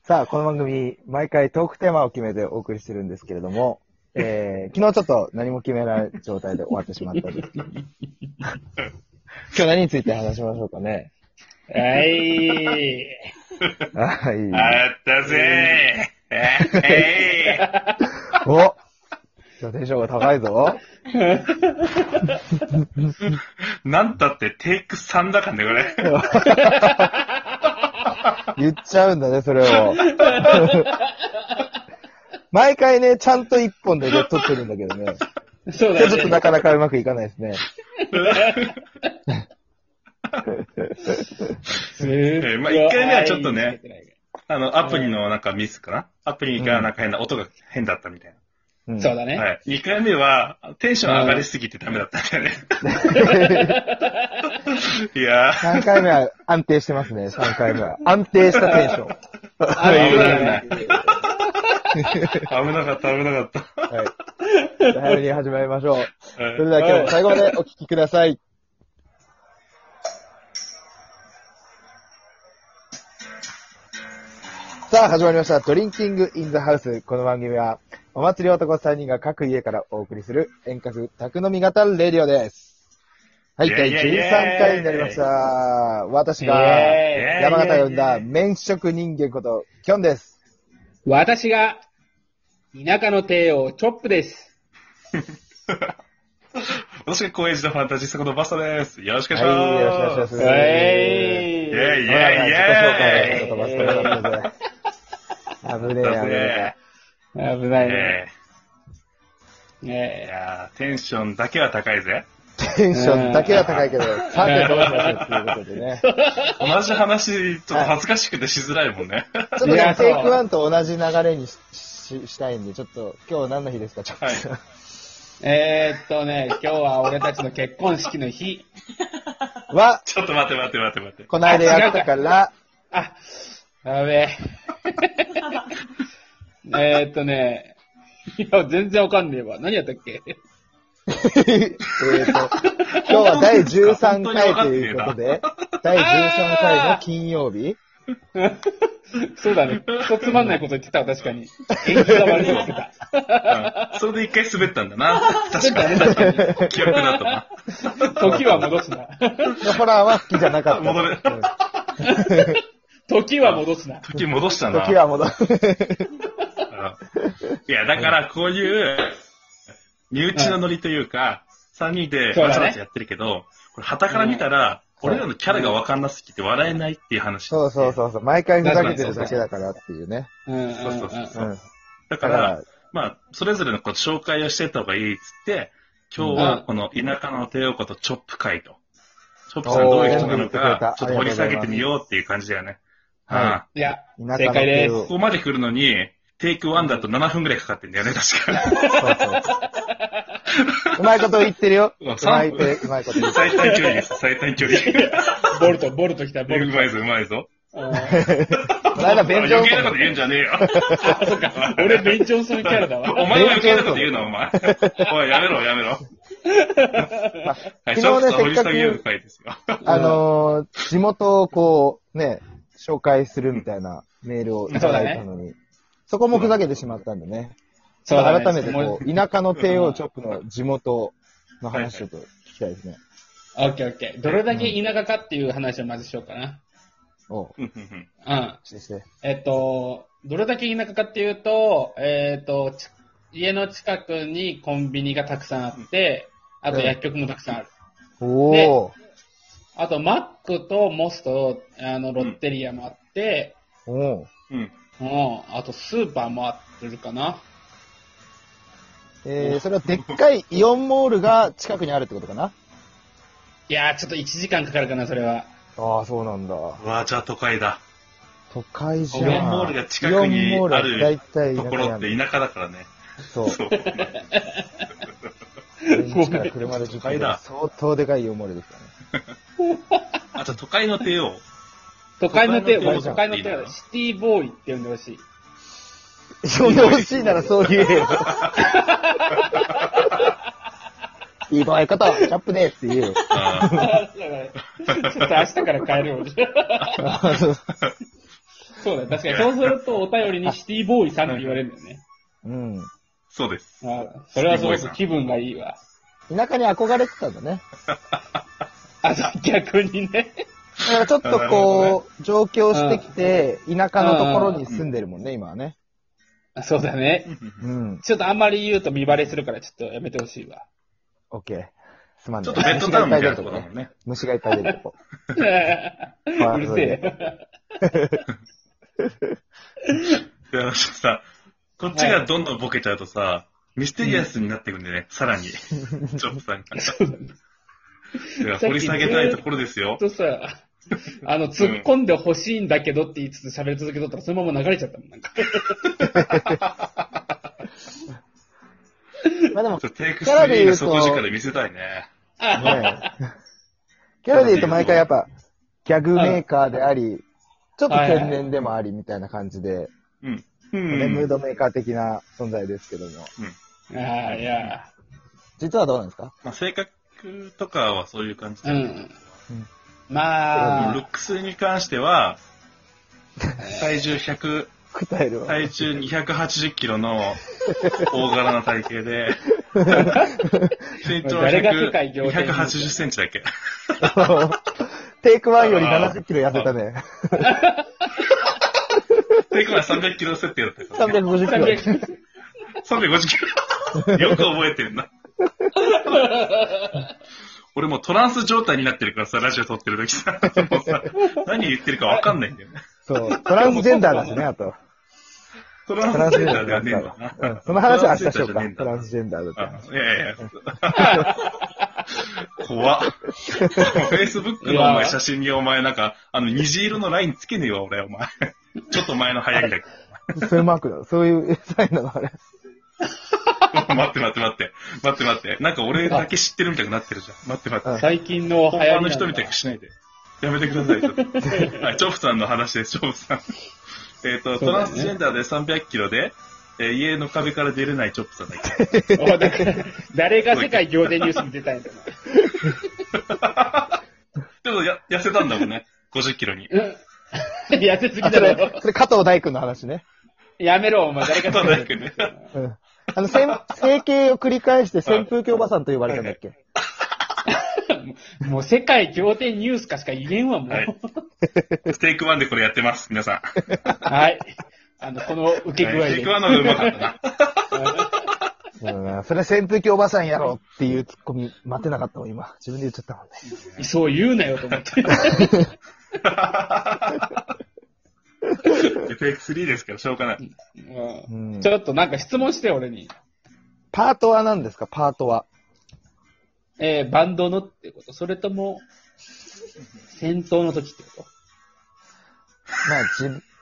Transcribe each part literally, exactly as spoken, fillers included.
さあ、この番組、毎回トークテーマを決めてお送りしてるんですけれども、えー、昨日ちょっと何も決めない状態で終わってしまったんですけど。今日何について話しましょうかね。 はい。 はい。 あったぜー。えー、お今日テンションが高いぞ。 なんたってテイクさんだからね、これ。 言っちゃうんだね、それを。毎回ね、ちゃんと一本でね、撮ってるんだけどね。 そうだね。 ちょっとなかなかうまくいかないですね。 えー、まあ、いっかいめはちょっとね、あの、アプリのなんかミスかな、アプリがなんか変な、音が変だったみたいな。 うん、 そうだね。 はい。にかいめは、テンション上がりすぎてダメだったんだよね。いやー。 さんかいめは安定してますね、さんかいめは。安定したテンション。 危ない。危なかった、危なかった。 はい。早めに始まりましょう。はい、それでは今日も最後までお聞きください。さあ、始まりました。ドリンキングインザハウス。この番組は、お祭り男さんにんが各家からお送りする遠隔宅飲み型レディオです。はい、だいじゅうさんかいになりました。私が山形呼んだ麺食人間こと、キョンです。 私が、田舎の帝王、チョップです。 私が高円寺のファンタジスタことバスタです。よろしくお願いします。 はい、よろしくお願いします。 イェーイイェーイイェーイイェーイ危ねえ、危ねえ。危ないね。 え。ねえ。いやー、テンションだけは高いぜ。 テンションだけは高いけど、さてどうしましょうっていうことでね。 同じ話、ちょっと恥ずかしくてしづらいもんね。 ちょっとね、テイクワンと同じ流れに し, し, したいんで、ちょっと、今日何の日ですか、ちょっと。はい、 えーっとね、今日は俺たちの結婚式の日。 は、 ちょっと待って待って待って待って。 この間やったから。 あ、やべえ。えーっとね、いや、全然わかんねえわ。何やったっけえっと、今日はだいじゅうさんかいということで、だいじゅうさんかいの金曜日そうだね。一つまんないこと言ってたわ、確かに。演技が悪い言ってた。 うん。それで一回滑ったんだな。確かに。 確かに。 記憶だったな。 時は戻すな。 ホラーは好きじゃなかった。 戻れ。 時は戻すな。 時戻したな。 時は戻す。 いや、だからこういう、身内のノリというか、さんにんでわちゃわちゃやってるけど、これ旗から見たら、俺らのキャラがわかんなすぎて笑えないっていう話。 そうそうそうそう。毎回ふざけてるだけだからっていうね。 うんそうそうそう。だから、まあ、それぞれのこう紹介をしていった方がいいっつって、今日はこの田舎の帝王ことチョップ会と。チョップさんどういう人なのか、ちょっと掘り下げてみようっていう感じだよね。 はい。いや、正解です。 ここまで来るのに、テイクワンだとななふんくらいかかってんだよね、確かに。 そうそう。うまいこと言ってるよ。うまい、うまいこと言ってる。 最短距離です、最短距離。 ボルト、ボルト来た、ボルト。 うまいぞ、うまいぞ。 この間、ベンジョンソン。 余計なこと言うんじゃねえよ。 あ、そっか。俺、ベンジョンソンキャラだわ。 お前が余計なこと言うな、お前。おい、やめろ、やめろ。 昨日ね、せっかく、あのー、地元をこう、ね、紹介するみたいなメールをいただいたのに、そこもふざけてしまったんでね。そう改めてこう、田舎の帝王チョップの地元の話ちょっと聞きたいですね。 オッケーオッケー。どれだけ田舎かっていう話をまずしようかな。 おう。 うん。えっと、どれだけ田舎かっていうと、えっと、家の近くにコンビニがたくさんあって、あと薬局もたくさんある。 おー。 あと、マックとモスと、あの、ロッテリアもあって、 うん、おー。うん。 うん。あと、スーパーもあるかな。 えー、それはでっかいイオンモールが近くにあるってことかな？ いやー、ちょっといちじかんかかるかな、それは。 ああ、そうなんだ。 うわ、じゃあ都会だ。 都会じゃん。 イオンモールが近くにあるところって田舎だからね。 そう。そう。家から車でじゅっぷんだ。相当でかいイオンモールですからね。 あ、じゃあ都会の帝王。 都会の帝王、都会の帝王、シティボーイって呼んでほしい。 呼んでほしいならそう言えよ。いい場合方、チャップでって言えよ。 ちょっと明日から帰るよ。 そうだよ。確かにそうするとお便りにシティボーイさんって言われるんだよね。 うん。 そうです。 あそれはすごく気分がいいわ。 田舎に憧れてたんだね。 あ、そう、逆にね。 だからちょっとこう、上京してきて、田舎のところに住んでるもんね、今はね。 そうだね。うん。ちょっとあんまり言うと見バレするから、ちょっとやめてほしいわ。 オッケー。すまんね。 ちょっとベッドタウンみたいなとこだもんね。 虫がいっぱい出るとこ。 うるせえ。 いや、さ、こっちがどんどんボケちゃうとさ、ミステリアスになっていくんでね、さらに。チョップさんが。そうだね。いや、掘り下げたいところですよ。 とさ、あの、突っ込んでほしいんだけどって言いつつ喋り続けとったら、そのまま流れちゃったもん、なんか。 まあでも、 テイクスリーの底力見せたいね。ねキャラで言うと毎回やっぱ、ギャグメーカーであり、ちょっと天然でもありみたいな感じで、 うんうん、ムードメーカー的な存在ですけども。 うん、ああ、いや。 実はどうなんですか？ まあ、性格とかはそういう感じで。うん。うん、 まあ、 ルックスに関しては、体重ひゃく、体重にひゃくはちじゅっキロの大柄な体型で、身長はひゃくはちじゅっセンチだっけ。 テイクワンよりななじゅっキロ痩せたね。 テイクワンさんびゃくキロ設定だったから、 ね。さんびゃくごじゅっキロ。 さんびゃくごじゅっキロ。よく覚えてるな。俺もうトランス状態になってるからさ、ラジオ撮ってる時さ、もうさ何言ってるかわかんないんだよね。 そう、トランスジェンダーだしね、あと。 トランスジェンダーではねえんだな。うん、その話は明日しようか。トランスジェンダーだって。 いやいやいや。怖っ。Facebook のお前写真にお前なんか、あの虹色のラインつけねえわ、俺、お前。ちょっと前の流行りだけど。そういうマークだ。そういうサインなの、あれ。 待って待って待って。待って待って。なんか俺だけ知ってるみたいになってるじゃん。待って待って。 最近の流行り。 他の人みたいにしないで。やめてください、ちょっと。はい、チョップさんの話です、チョップさん。えっと、トランスジェンダーでさんびゃくキロで、えー、家の壁から出れないチョップさんだけ。 おだから誰が世界仰天ニュースに出たいんだな。でもや、痩せたんだもんね。ごじゅっキロに。うん、 痩せすぎだろ。 それ加藤大君の話ね。 やめろ、お前。誰か加藤大君ね。 うん。あの、整形を繰り返して扇風機おばさんと呼ばれたんだっけ。 もう世界仰天ニュースかしか言えんわ、もう。はい、 ステークワンでこれやってます、皆さん。はい。あの、この受け具合で。 ステークワンの方がうまかったな。うん、それ扇風機おばさんやろっていうツッコミ待てなかったもん、今。自分で言っちゃったもんね。 そう言うなよと思って。テイクスリーですから、しょうがない、 うん。ちょっとなんか質問して、俺に。 パートは何ですか、パートは。 えー、バンドのってこと？それとも、戦闘の時ってこと？ まあ、自分、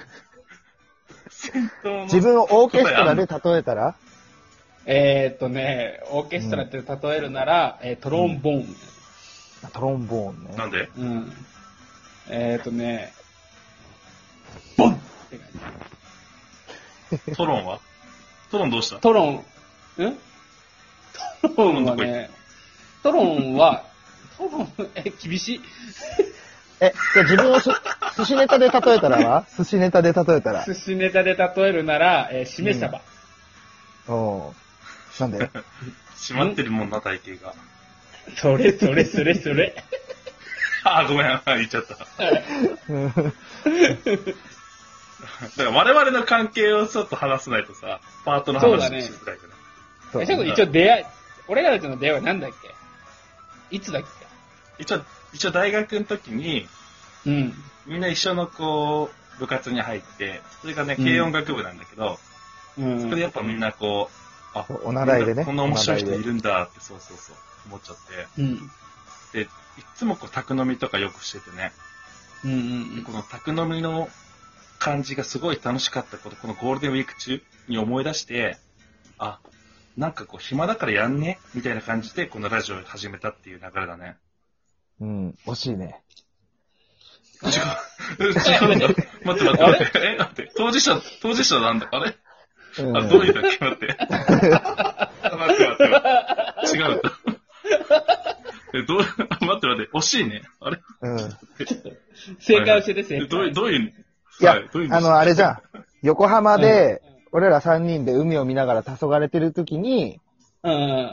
自分をオーケストラで例えたらえーっとね、オーケストラって例えるなら、うん、えー、トロンボーン、うん。 トロンボーンね。 なんで？ うん。えーっとね、ボンって感じ。トロンはトロンどうした？ トロン、んトロンはね、トロンは、トロン、え、厳しい。 え、じゃあ自分をす寿司ネタで例えたらは寿司ネタで例えたら。 寿司ネタで例えるなら、えー、しめ鯖。 うん、おー。なんで閉まってるもんな、体型が。 それそれそれそれ。 あ、ごめん、言っちゃった。だから我々の関係をちょっと話さないとさ、パートの話しづらいから。 そうだね。え、ちょっと一応出会い、俺らとの出会いは何だっけ？いつだっけ？ 一応、一応大学の時に、 うん。 みんな一緒のこう、部活に入って、それがね、軽音楽部なんだけど、うん、そこでやっぱみんなこう、あ、 お習いでね。 こんな面白い人いるんだって、そうそうそう、思っちゃって。 うん。 で、いつもこう、宅飲みとかよくしててね。 うんうんうん。 この宅飲みの感じがすごい楽しかったこと、このゴールデンウィーク中に思い出して、あ、なんかこう、暇だからやんねみたいな感じで、このラジオを始めたっていう流れだね。 うん、惜しいね。 違う。違うんだ。待って待って待って。え、待って。当事者、当事者なんだ。あれ、うん、あ、どういうだっけ？待って。待って待って待って。違うんだ。え、どう、待って待って。惜しいね。あれ、 うん。正解教えて、正解。 どういう、どういう、 いや、あの、あれじゃん。横浜で、俺らさんにんで海を見ながら黄昏てるときに、 うん。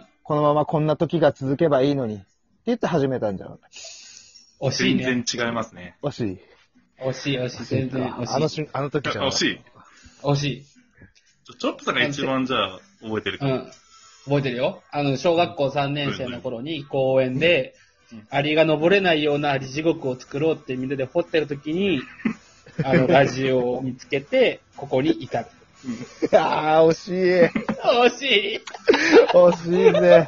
このままこんな時が続けばいいのに、って言って始めたんじゃん。 惜しいね。 全然違いますね。 惜しい。 惜しい、惜しい、全然惜しい。 あのし、あの時じゃん。 惜しい。 惜しい。 チョップさんが一番じゃあ、覚えてるか。 うん。覚えてるよ。あの、小学校さんねん生の頃に公園で、アリが登れないようなアリ地獄を作ろうってみんなで掘ってる時に、あの、ラジオを見つけて、ここに至る。 ああ、惜しい。 惜しい。 惜しいぜ。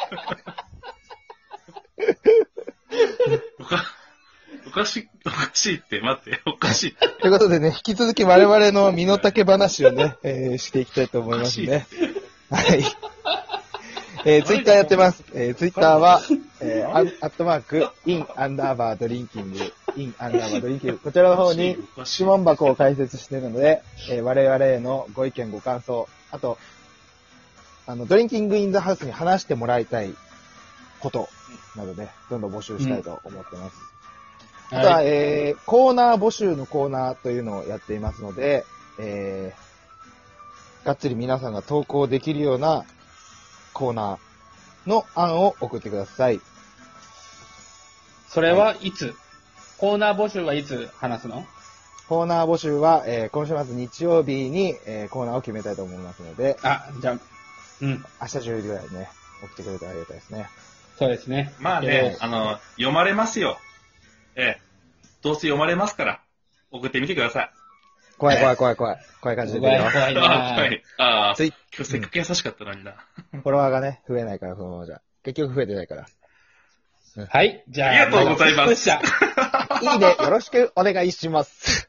おか、おかしい、おかしいって、待って、おかしい。 ということでね、引き続き我々の身の丈話をね、えー、していきたいと思いますね。はい。えー、ツイッターやってます。えー、ツイッターは、えー、アットマーク、イン、アンダーバー、ドリンキング、イン、アンダーバー、ドリンキング。こちらの方に質問箱を開設しているので、えー、我々へのご意見、ご感想、あと、あの、ドリンキングインザハウスに話してもらいたいことなどね、どんどん募集したいと思ってます。うん、あとは、はい、えー、コーナー募集のコーナーというのをやっていますので、えー、がっつり皆さんが投稿できるようなコーナーの案を送ってください。 それはいつ、はい、コーナー募集はいつ話すの？ コーナー募集は、えー、今週末日曜日に、えー、コーナーを決めたいと思いますので、 あ、じゃあ、うん。 明日じゅうじぐらいにね、送ってくれたらありがたいですね。 そうですね。 まあね、あの、読まれますよ。ええ。どうせ読まれますから、送ってみてください。 怖い怖い怖い怖い。怖い感じで出てるよ。怖いなはい。ああ、 つい今日せっかく優しかったのにな。 フォロワーがね、増えないから、そのままじゃ。結局増えてないから。 うん、はい。じゃあ、 ありがとうございます。 いいね。よろしくお願いします。